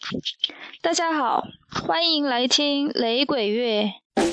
大家好，欢迎来听雷鬼乐。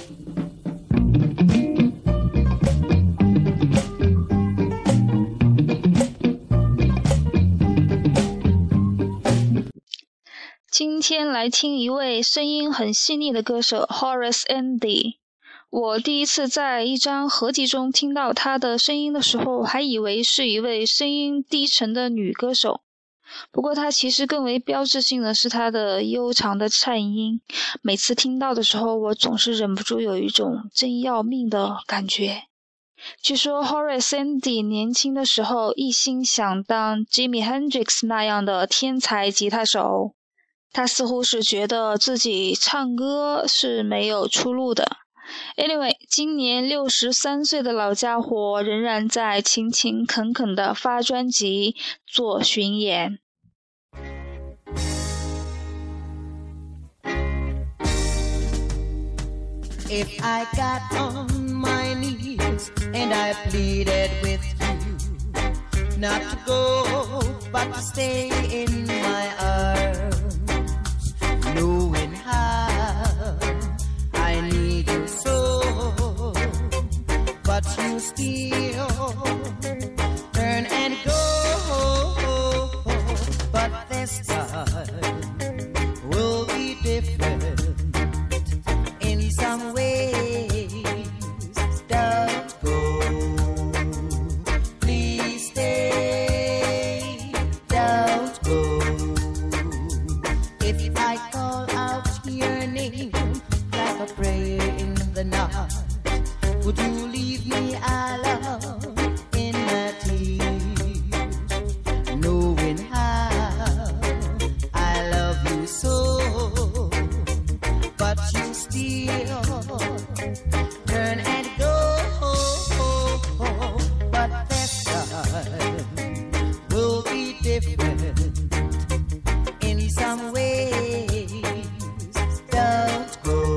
今天来听一位声音很细腻的歌手 Horace Andy。我第一次在一张合集中听到他的声音的时候，还以为是一位声音低沉的女歌手。不过他其实更为标志性的是他的悠长的颤音，每次听到的时候，我总是忍不住有一种真要命的感觉。据说 Horace Andy 年轻的时候一心想当 Jimi Hendrix 那样的天才吉他手，他似乎是觉得自己唱歌是没有出路的。Anyway， 今年63岁的老家伙仍然在勤勤恳恳地发专辑、做巡演。 If I got on my knees and I pleaded with you not to go but to stay in my arms, knowing how I need you so, but you still turn and go, but this time will be different in some ways. Don't go, please stay, don't go. If I call out your name like a prayer in the night, would you leave me alone in my tears, knowing how I love you so, but you still turn and go, but this time will be different in some ways. Don't go,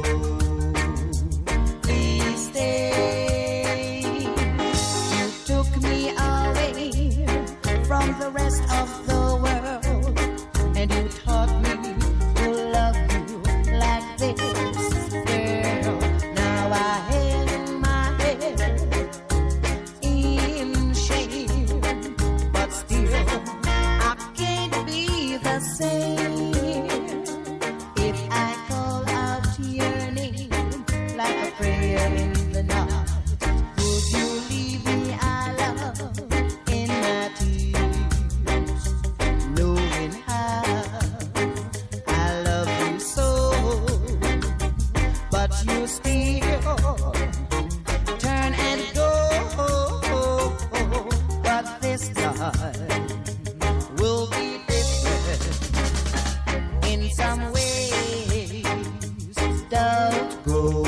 please stay. You took me away from the rest of the world, and you taught me to love you like this, girl. Now I hang my head in shame, but still I can't be the same. If I call out your name like a prayer in the night, would you leave me alone in my tears, knowing how I love you so, but you still turn and go, but this time will be different in some ways. Don't go,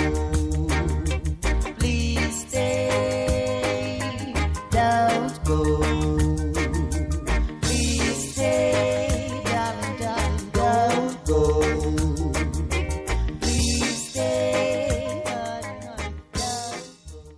please stay, don't go, please stay, darling, darling, don't go, please stay, darling, darling, don't go.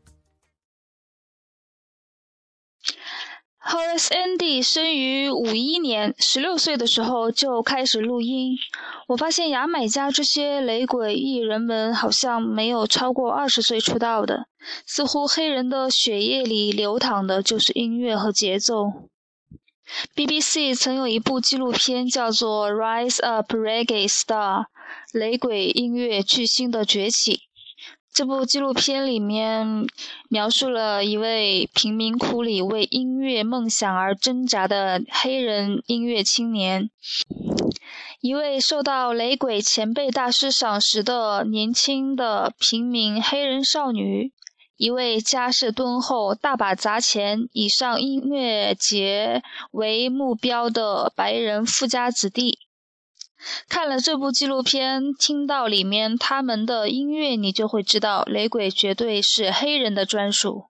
Horace Andy 生于51年，16岁的时候就开始录音。我发现牙买加这些雷鬼艺人们好像没有超过20岁出道的，似乎黑人的血液里流淌的就是音乐和节奏。BBC 曾有一部纪录片叫做 Rise Up Reggae Star， 雷鬼音乐巨星的崛起。这部纪录片里面描述了一位贫民窟里为音乐梦想而挣扎的黑人音乐青年，一位受到雷鬼前辈大师赏识的年轻的平民黑人少女，一位家世敦厚、大把砸钱以上音乐节为目标的白人富家子弟。看了这部纪录片，听到里面他们的音乐，你就会知道雷鬼绝对是黑人的专属。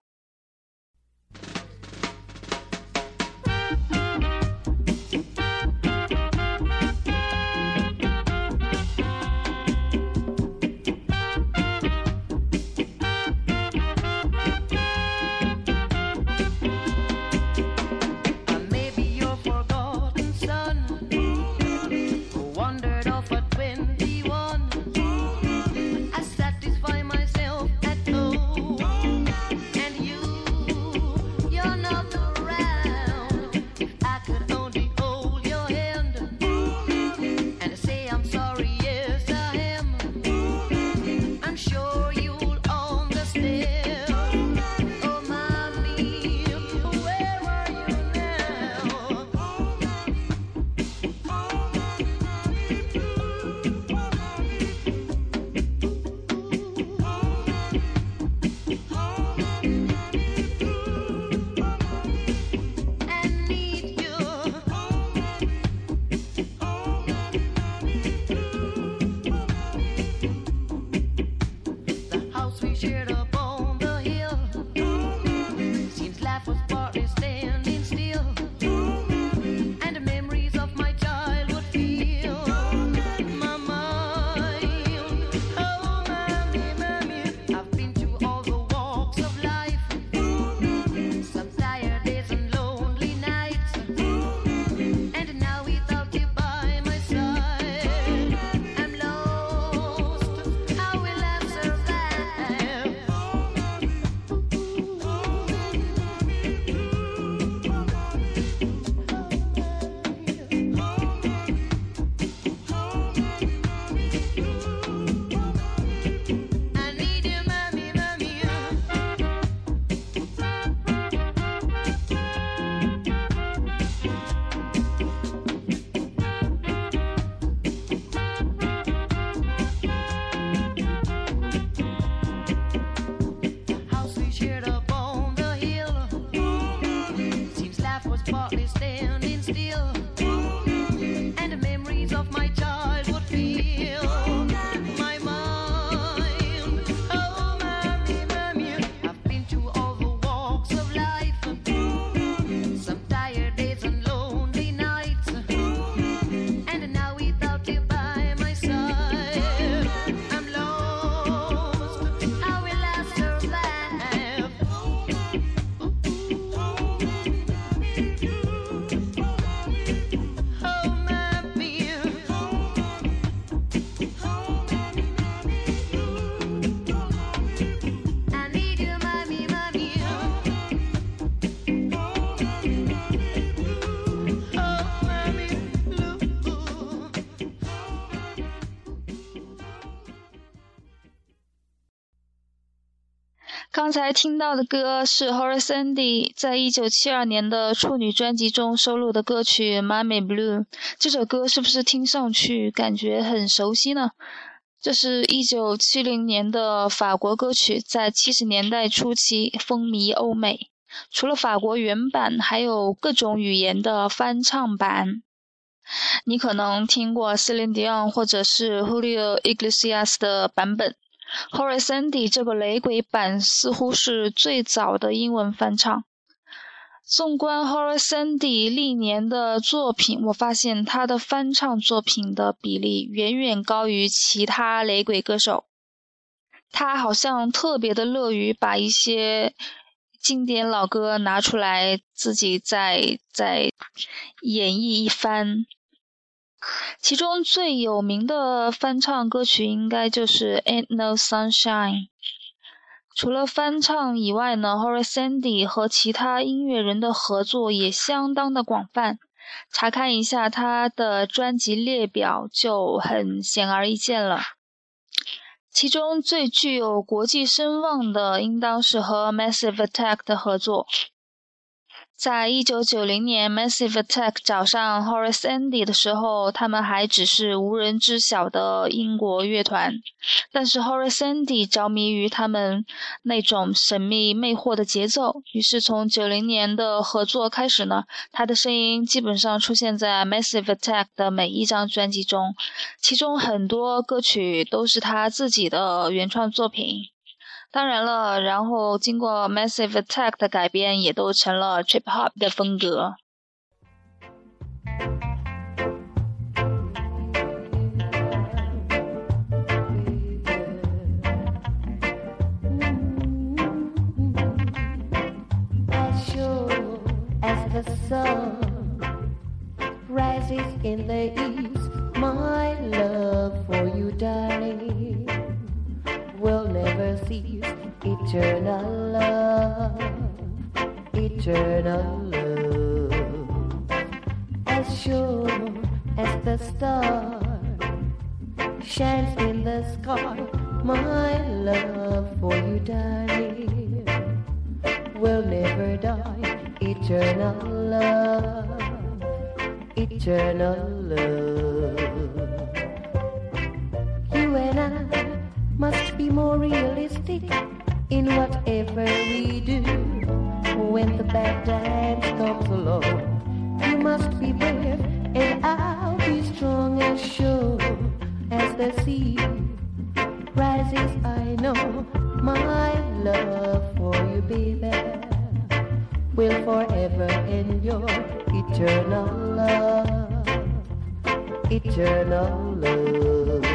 刚才听到的歌是 Horace Andy 在1972年的处女专辑中收录的歌曲 Mommy Blue。 这首歌是不是听上去感觉很熟悉呢？这是1970年的法国歌曲，在70年代初期风靡欧美，除了法国原版还有各种语言的翻唱版。你可能听过 Celine Dion 或者是 Julio Iglesias 的版本， Horace Andy 这个雷鬼版似乎是最早的英文翻唱。纵观 Horace Andy 历年的作品，我发现他的翻唱作品的比例远远高于其他雷鬼歌手。他好像特别的乐于把一些经典老歌拿出来自己再演绎一番。其中最有名的翻唱歌曲应该就是 Ain't No Sunshine。 除了翻唱以外呢， Horace Andy 和其他音乐人的合作也相当的广泛，查看一下他的专辑列表就很显而易见了。其中最具有国际声望的应当是和 Massive Attack 的合作。在1990年 Massive Attack 找上 Horace Andy 的时候，他们还只是无人知晓的英国乐团，但是 Horace Andy 着迷于他们那种神秘魅惑的节奏，于是从90年的合作开始呢，他的声音基本上出现在 Massive Attack 的每一张专辑中，其中很多歌曲都是他自己的原创作品。当然了，然后经过 Massive Attack 的改编，也都成了 Trip Hop 的风格。 As sure as the sun rises in the east, my love for you, darling, will never cease. Eternal love, eternal love. As sure as the star shines in the sky, my love for you, darling, will never die. Eternal love, eternal love. You and I must be more realistic in whatever we do. When the bad times comes along, you must be brave and I'll be strong and sure. As the sea rises, I know my love for you, baby, will forever endure. Eternal love, eternal love.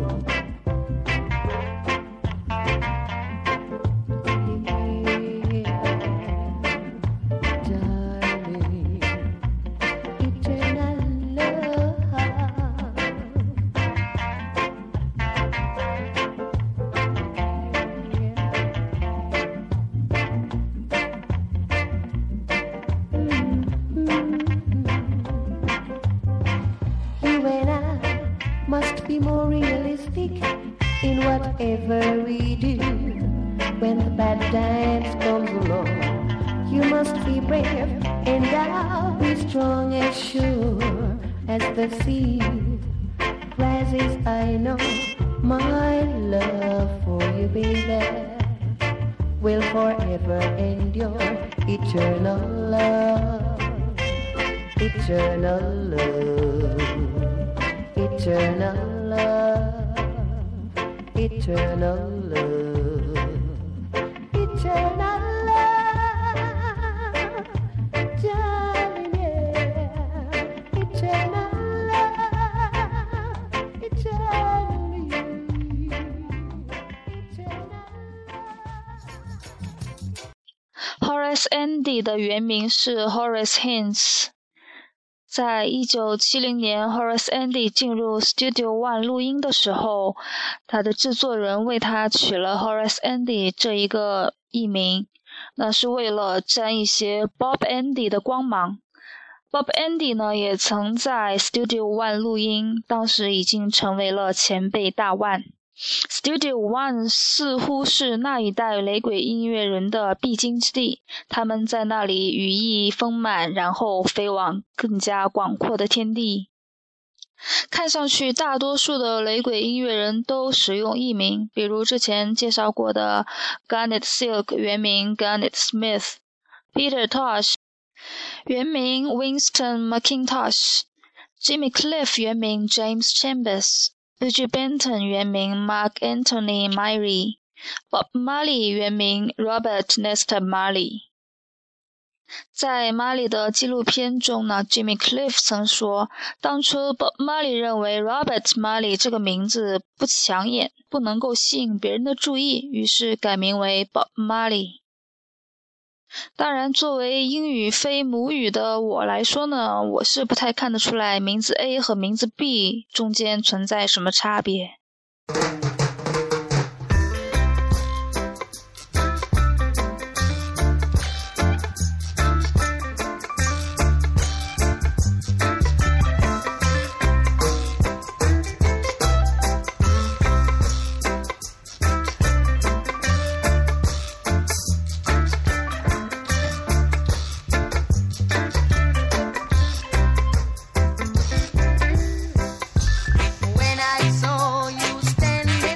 Be more realistic in whatever we do. When the bad times comes along, you must be brave and I'll be strong and sure. As the sea rises, I know my love for you, baby, will forever endure. Eternal love, eternal love, eternal love, eternal love, eternal love, darling, yeah. Eternal love, eternally, eternal love. Horace Andy 的原名是 Horace Haynes。在1970年 Horace Andy 进入 Studio One 录音的时候，他的制作人为他取了 Horace Andy 这一个艺名，那是为了沾一些 Bob Andy 的光芒。Bob Andy 呢也曾在 Studio One 录音，当时已经成为了前辈大腕。 Studio One 似乎是那一代雷鬼音乐人的必经之地，他们在那里羽翼丰满，然后飞往更加广阔的天地。看上去大多数的雷鬼音乐人都使用艺名，比如之前介绍过的 Garnet Silk 原名 Garnet Smith， Peter Tosh 原名 Winston McIntosh， Jimmy Cliff 原名 James Chambers，Buju Benton 原名 Mark Anthony Myrie， Bob Marley 原名 Robert Nesta Marley。在 Marley 的纪录片中呢 Jimmy Cliff 曾说，当初 Bob Marley 认为 Robert Marley 这个名字不抢眼，不能够吸引别人的注意，于是改名为 Bob Marley。当然，作为英语非母语的我来说呢，我是不太看得出来名字 A 和名字 B 中间存在什么差别。 When I saw you standing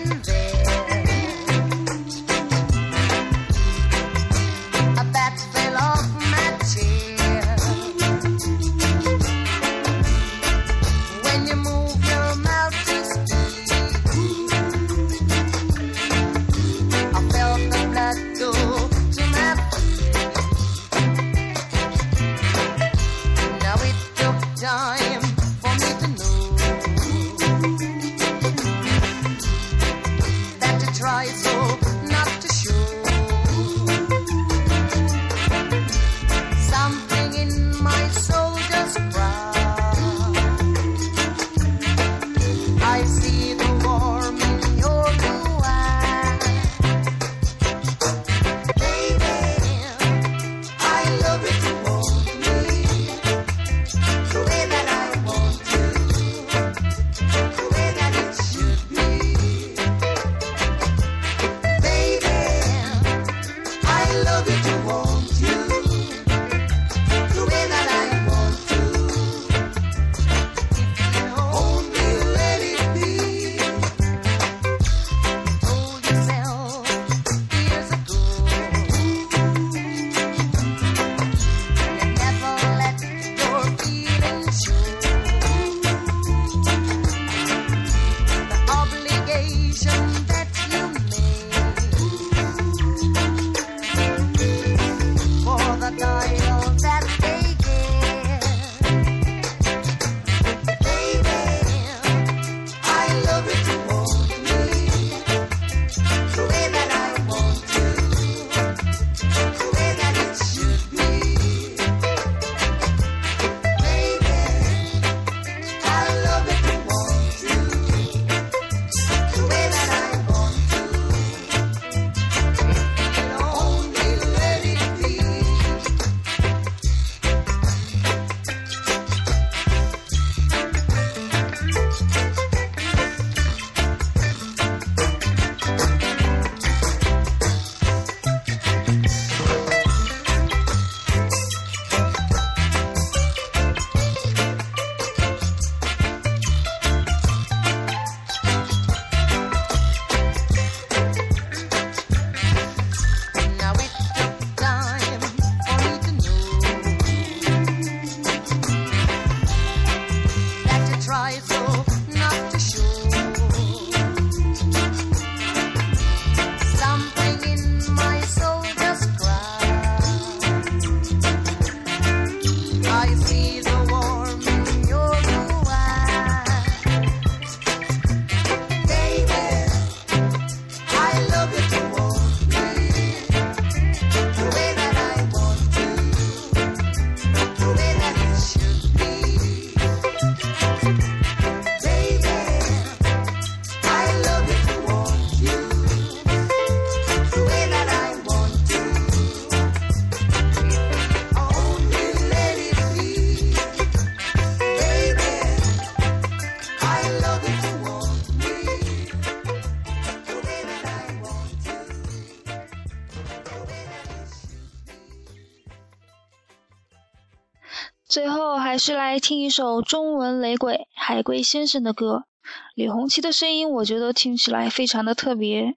最后还是来听一首中文雷鬼海龟先生的歌，李红旗的声音我觉得听起来非常的特别。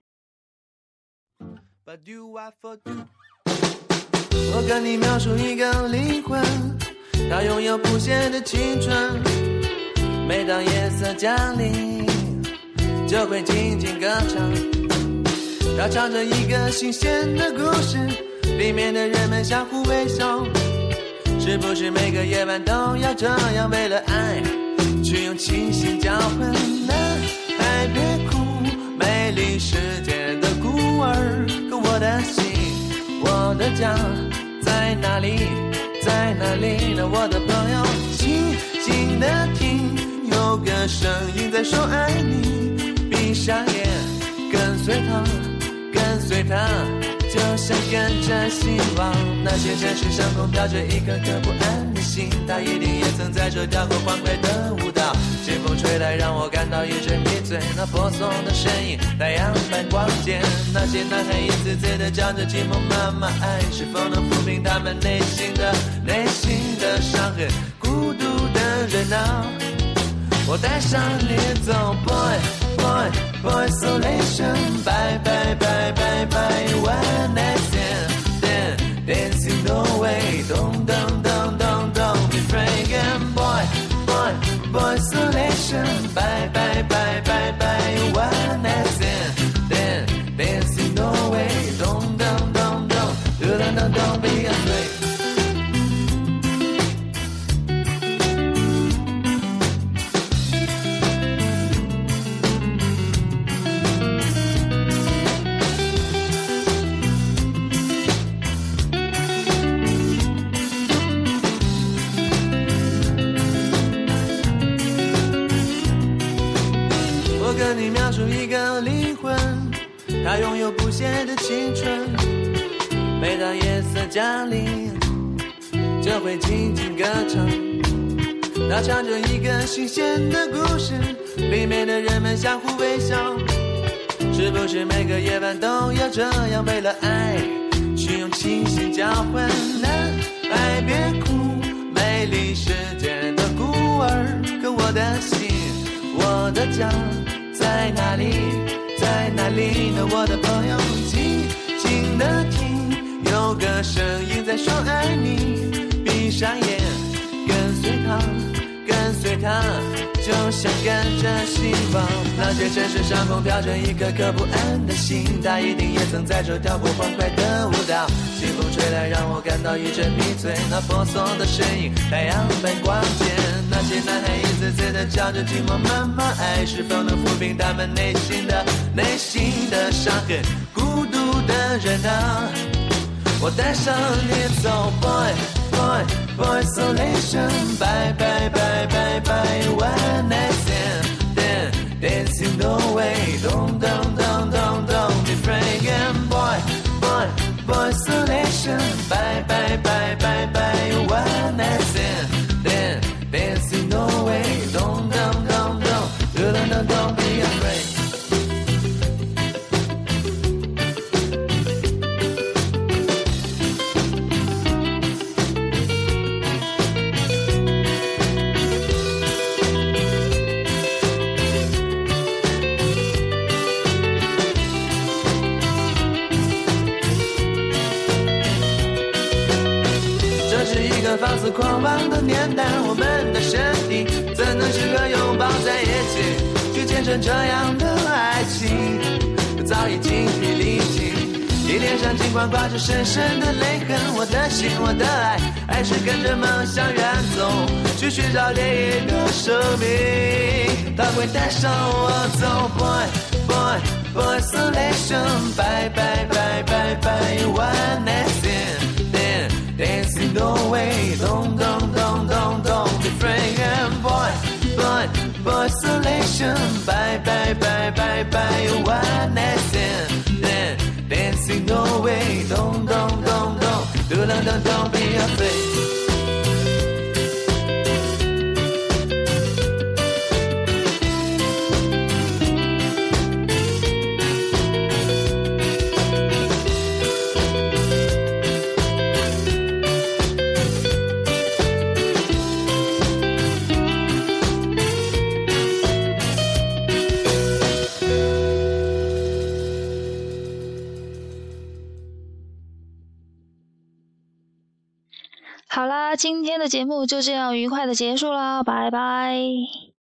我跟你描述一个灵魂，它拥有不懈的青春，每当夜色降临就会静静歌唱，它唱着一个新鲜的故事，里面的人们相互微笑，是不是每个夜晚都要这样为了爱去用清醒交换呢？还别哭，美丽世界的孤儿，可我的心我的家在哪里在哪里呢？我的朋友静静地听，有个声音在说爱你，闭上眼跟随他跟随他，就像跟着希望。那些城市上空飘着一颗颗不安的心，他一定也曾在这跳过欢快的舞蹈。清风吹来让我感到一阵迷醉，那婆娑的身影太阳般光洁，那些男孩一次次地叫着寂寞妈妈，爱是否能抚平他们内心的伤痕？孤独的人啊，我带上你走 boy boy boy isolation bye bye bye bye bye one night stand dancing no way don't don't don't don't don't be frightened boy boy boy isolation bye bye bye bye bye one night stand dancing no way don't don't don't don't don't don't don't be afraid。跟你描述一个灵魂，它拥有不懈的青春，每当夜色降临就会静静歌唱，它唱着一个新鲜的故事，里面的人们相互微笑，是不是每个夜晚都要这样为了爱去用清醒交换呢？爱别哭，美丽世界的孤儿，可我的心我的家在哪里在哪里呢？我的朋友静静地听，有个声音在说爱你，闭上眼跟随他跟随他，就像跟着希望。那些城市上空飘着一颗颗不安的心，他一定也曾在这跳过欢快的舞蹈。清风吹来让我感到一阵迷醉，那婆娑的身影太阳般光洁，那些男孩一次次地叫着寂寞妈妈，爱是否能抚平他们内心的伤痕？孤独的人啊，我带上你走 boy boy boy isolation bye bye bye bye bye one night stand dancing no way don't don't don't don't don't be frightened boy boy boy isolation bye bye bye bye bye one night stand dancing no way don't don't don't don't don't don't be afraid。放肆狂妄的年代，我们的身体怎能适合拥抱在一起，去见证这样的爱情？早已精疲力尽，你脸上尽管挂着深深的泪痕，我的心，我的爱，还是跟着梦想远走，去寻找另一个生命，它会带上我走 boy boy boy isolation bye bye bye bye bye one night stand.Dancing no way, don't be frightened, boy, boy isolation, bye bye bye bye bye one night stand, dancing no way, don't be afraid. 好啦，今天的节目就这样愉快的结束啦，拜拜。